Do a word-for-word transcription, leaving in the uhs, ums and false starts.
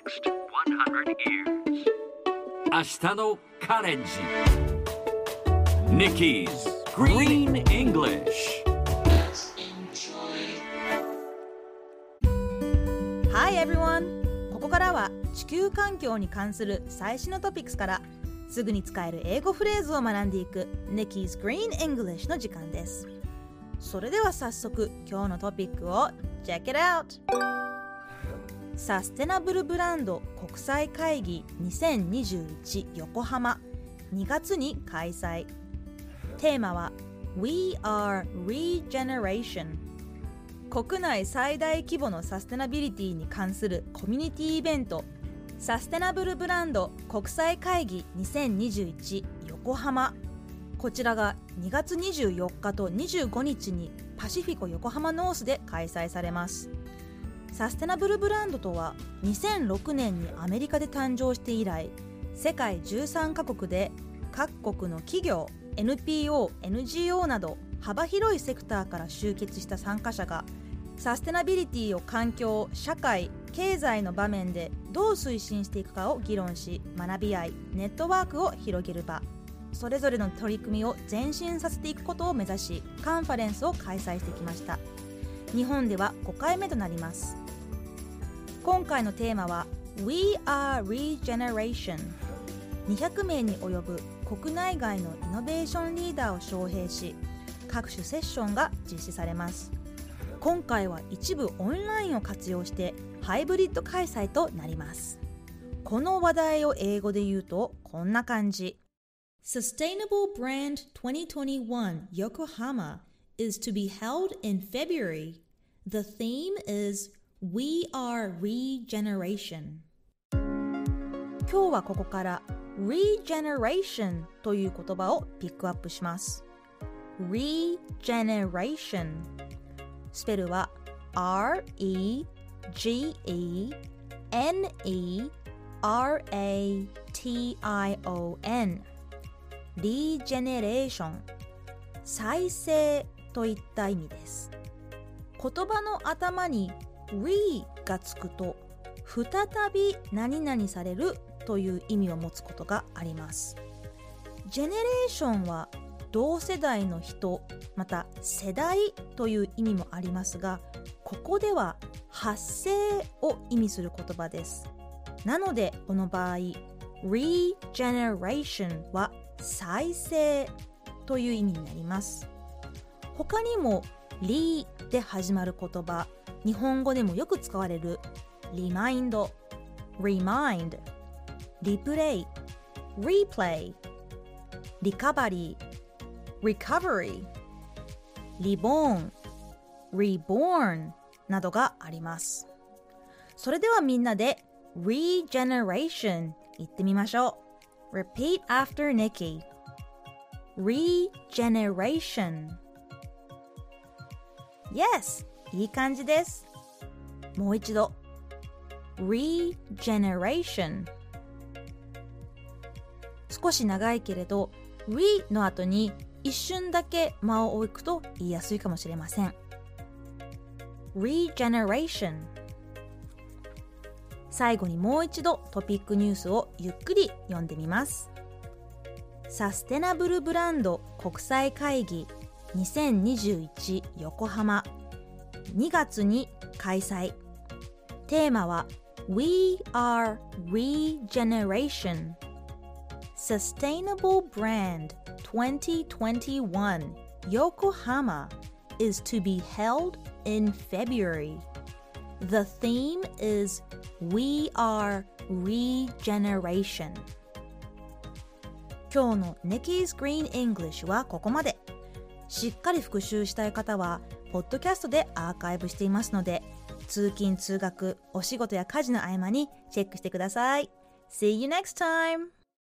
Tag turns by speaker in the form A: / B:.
A: next one hundred years. 明日のカレンジ Nikki's Green English。
B: Hi everyone! ここからは地球環境に関する最新のトピックスからすぐに使える英語フレーズを学んでいく Nikki's Green English の時間です。それでは早速今日のトピックを Check it out! サステナブルブランド国際会議にせんにじゅういち横浜にがつに開催。テーマは We are Regeneration。国内最大規模のサステナビリティに関するコミュニティイベントサステナブルブランド国際会議にせんにじゅういち横浜。こちらがにがつにじゅうよっかとにじゅうごにちにパシフィコ横浜ノースで開催されます。サステナブルブランドとはにせんろくねんにアメリカで誕生して以来、世界じゅうさんカ国で各国の企業、エヌピーオー、エヌジーオー など幅広いセクターから集結した参加者がサステナビリティを環境、社会、経済の場面でどう推進していくかを議論し、学び合い、ネットワークを広げる場、それぞれの取り組みを前進させていくことを目指し、カンファレンスを開催してきました。日本ではごかいめとなります。今回のテーマは We are Regeneration。 にひゃくめいに及ぶ国内外のイノベーションリーダーを招聘し、各種セッションが実施されます。今回は一部オンラインを活用してハイブリッド開催となります。この話題を英語で言うとこんな感じ。 Sustainable Brand twenty twenty-one Yokohama is to be held in February. The theme is We are Regeneration。 今日はここから Regeneration という言葉をピックアップします。 Regeneration、 スペルは アールイージーイーエヌイーアールエーティーアイオーエヌ Regeneration、 再生といった意味です。言葉の頭に re がつくと再び何々されるという意味を持つことがあります。ジェネレーションは同世代の人、また世代という意味もありますが、ここでは発生を意味する言葉です。なのでこの場合 regeneration は再生という意味になります。他にも re で始まる言葉、日本語でもよく使われる remind、 remind、 replay、 replay、 recovery、 recovery、 reborn、 reborn などがあります。それではみんなで regeneration 言ってみましょう。 Repeat after Nikki。 regeneration。 Yes、いい感じです。もう一度 Regeneration。 少し長いけれど Re の後に一瞬だけ間を置くと言いやすいかもしれません。 Regeneration。 最後にもう一度トピックニュースをゆっくり読んでみます。サステナブルブランド国際会議にせんにじゅういち横浜にがつに開催。テーマは We are Regeneration。 Sustainable Brand twenty twenty-one Yokohama is to be held in February. The theme is We are Regeneration。 今日の Nikki's Green English はここまで。しっかり復習したい方はポッドキャストでアーカイブしていますので、通勤通学、お仕事や家事の合間にチェックしてください。See you next time!